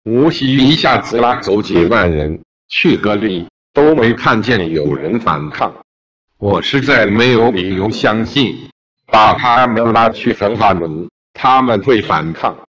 无锡一下子拉走几万人，去何里都没看见有人反抗。我实在没有理由相信，把他们拉去焚化炉，他们会反抗。